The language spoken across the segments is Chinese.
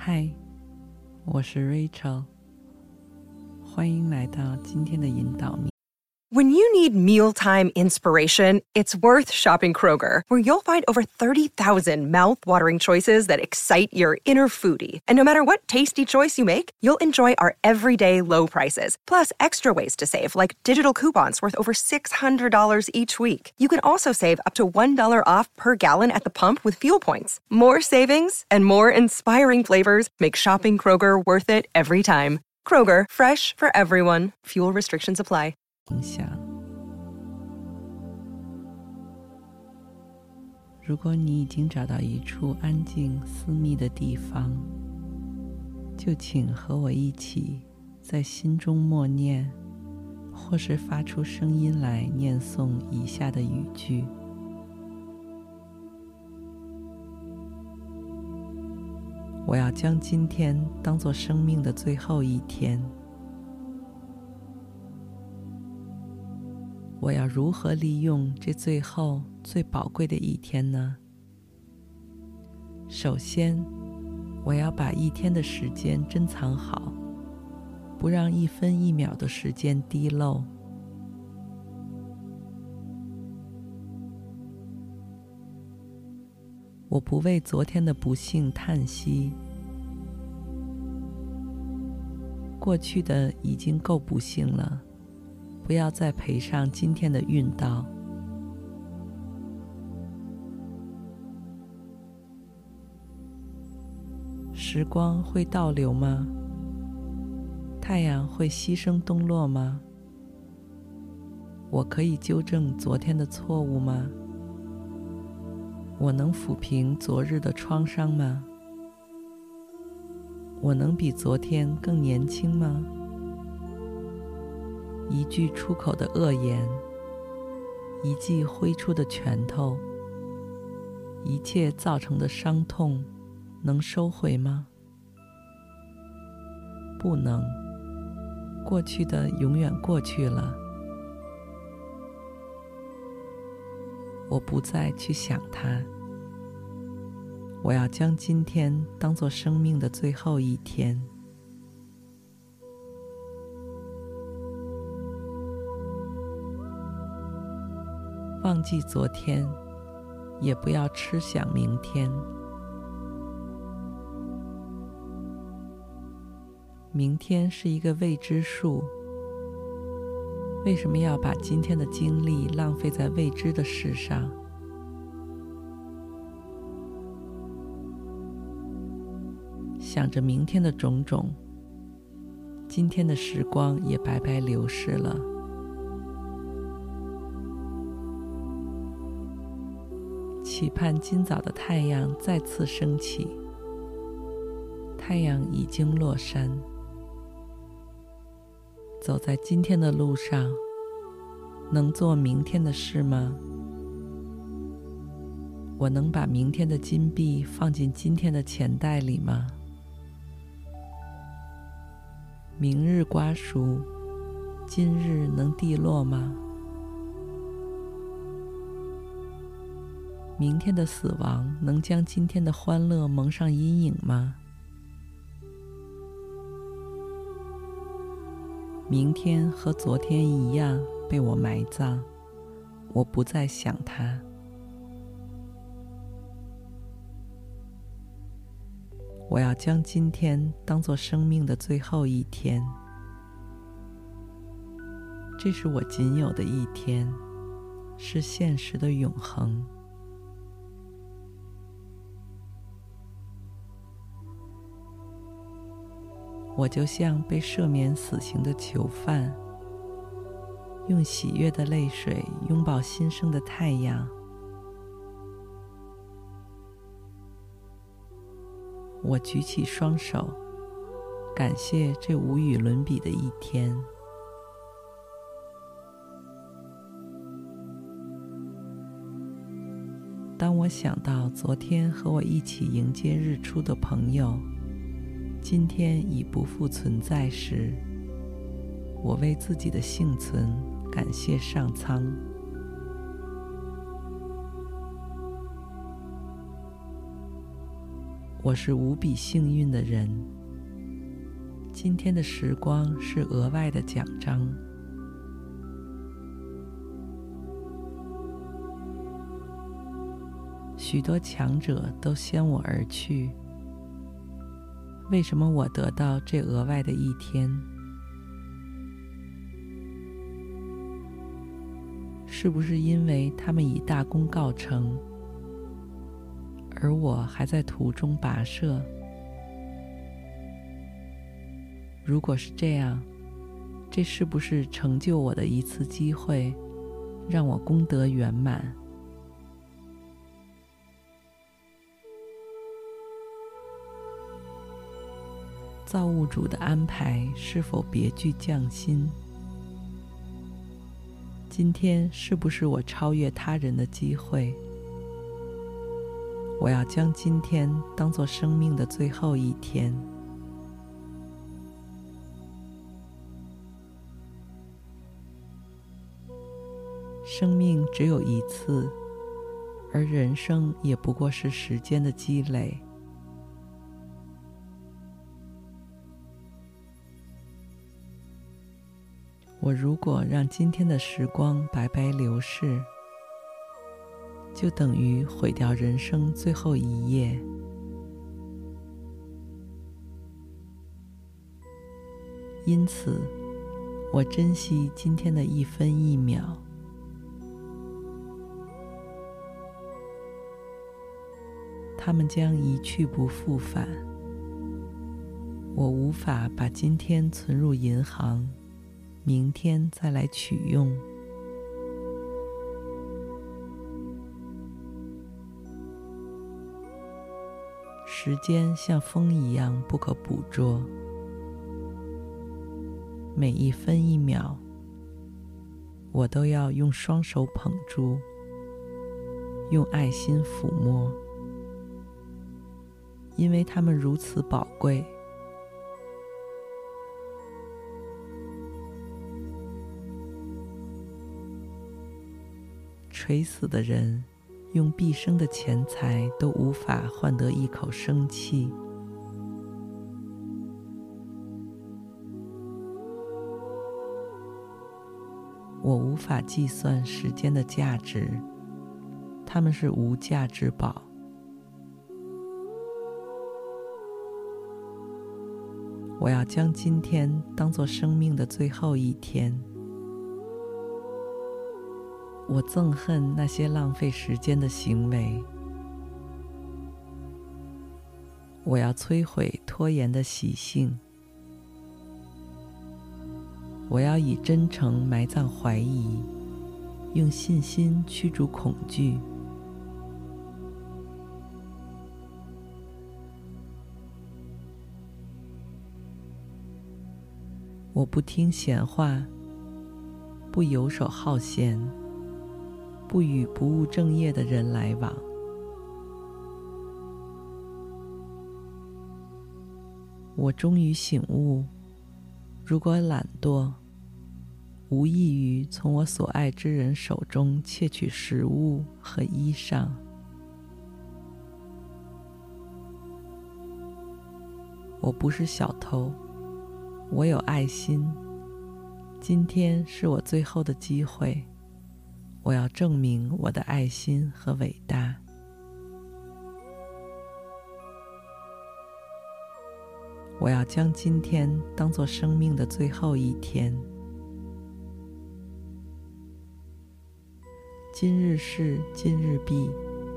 嗨，我是 Rachel， 欢迎来到今天的引导面。 When you need mealtime inspiration, it's worth shopping Kroger, where you'll find over 30,000 mouth-watering choices that excite your inner foodie. And no matter what tasty choice you make, you'll enjoy our everyday low prices, plus extra ways to save, like digital coupons worth over $600 each week. You can also save up to $1 off per gallon at the pump with fuel points. More savings and more inspiring flavors make shopping Kroger worth it every time. Kroger, fresh for everyone. Fuel restrictions apply. 影响。如果你已经找到一处安静私密的地方，就请和我一起在心中默念，或是发出声音来念诵以下的语句。我要将今天当作生命的最后一天。我要如何利用这最后最宝贵的一天呢？首先，我要把一天的时间珍藏好，不让一分一秒的时间滴漏。我不为昨天的不幸叹息，过去的已经够不幸了，不要再赔上今天的运道。时光会倒流吗？太阳会牺牲东落吗？我可以纠正昨天的错误吗？我能抚平昨日的创伤吗？我能比昨天更年轻吗？一句出口的恶言，一记挥出的拳头，一切造成的伤痛，能收回吗？不能，过去的永远过去了。我不再去想它。我要将今天当作生命的最后一天。忘记昨天，也不要痴想明天。明天是一个未知数，为什么要把今天的精力浪费在未知的事上？想着明天的种种，今天的时光也白白流逝了。期盼今早的太阳再次升起，太阳已经落山。走在今天的路上，能做明天的事吗？我能把明天的金币放进今天的钱袋里吗？明日瓜熟，今日能蒂落吗？明天的死亡能将今天的欢乐蒙上阴影吗？明天和昨天一样被我埋葬，我不再想它。我要将今天当作生命的最后一天。这是我仅有的一天，是现实的永恒。我就像被赦免死刑的囚犯，用喜悦的泪水拥抱新生的太阳。我举起双手，感谢这无与伦比的一天。当我想到昨天和我一起迎接日出的朋友，今天已不复存在时，我为自己的幸存感谢上苍。 我是无比幸运的人。今天的时光是额外的奖章。许多强者都先我而去，为什么我得到这额外的一天？是不是因为他们以大功告成，而我还在途中跋涉？如果是这样，这是不是成就我的一次机会，让我功德圆满？造物主的安排是否别具匠心？今天是不是我超越他人的机会？我要将今天当作生命的最后一天。生命只有一次，而人生也不过是时间的积累。我如果让今天的时光白白流逝，就等于毁掉人生最后一页。因此，我珍惜今天的一分一秒。他们将一去不复返。我无法把今天存入银行，明天再来取用。时间像风一样不可捕捉，每一分一秒，我都要用双手捧住，用爱心抚摸，因为它们如此宝贵。垂死的人用毕生的钱财都无法换得一口生气。我无法计算时间的价值，它们是无价之宝。我要将今天当作生命的最后一天。我憎恨那些浪费时间的行为。我要摧毁拖延的习性。我要以真诚埋葬怀疑，用信心驱逐恐惧。我不听闲话，不游手好闲，不与不务正业的人来往。我终于醒悟，如果懒惰，无异于从我所爱之人手中窃取食物和衣裳。我不是小偷，我有爱心。今天是我最后的机会，我要证明我的爱心和伟大。我要将今天当作生命的最后一天。今日事今日毕。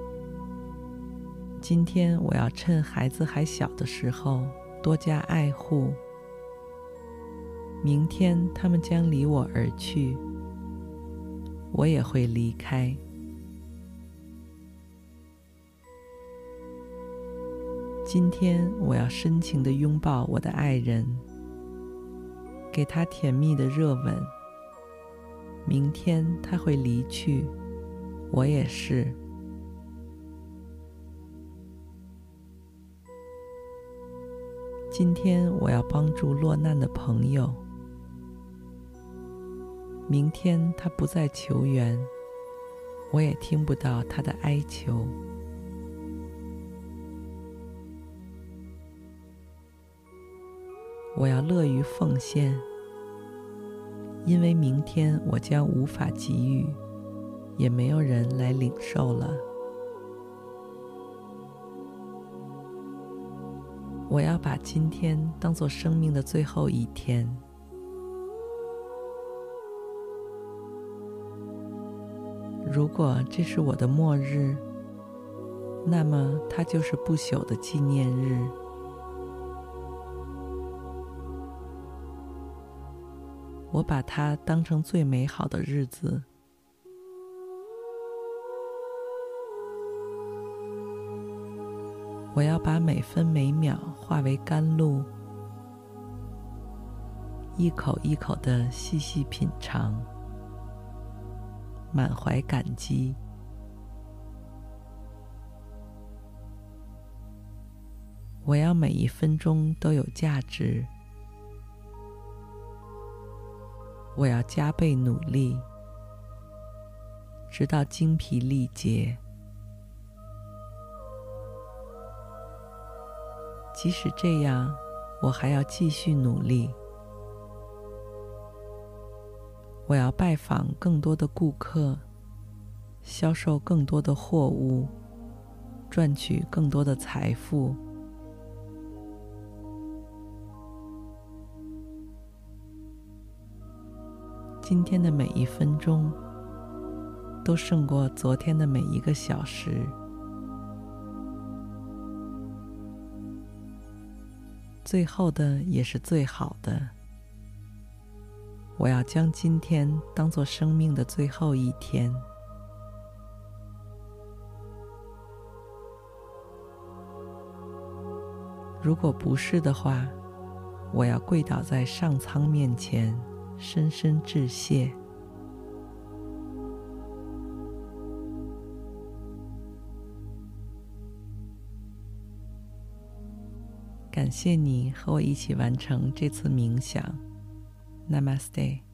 今天我要趁孩子还小的时候多加爱护。明天他们将离我而去，我也会离开。今天我要深情地拥抱我的爱人，给他甜蜜的热吻。明天他会离去，我也是。今天我要帮助落难的朋友。明天他不再求援，我也听不到他的哀求。 我要乐于奉献，因为明天我将无法给予，也没有人来领受了。我要把今天当作生命的最后一天。如果这是我的末日，那么它就是不朽的纪念日。我把它当成最美好的日子。我要把每分每秒化为甘露，一口一口地细细品尝，满怀感激。我要每一分钟都有价值。我要加倍努力，直到精疲力竭。即使这样，我还要继续努力。我要拜访更多的顾客，销售更多的货物，赚取更多的财富。今天的每一分钟都胜过昨天的每一个小时。最后的也是最好的。我要将今天当作生命的最后一天。如果不是的话，我要跪倒在上苍面前，深深致谢。感谢你和我一起完成这次冥想。Namaste。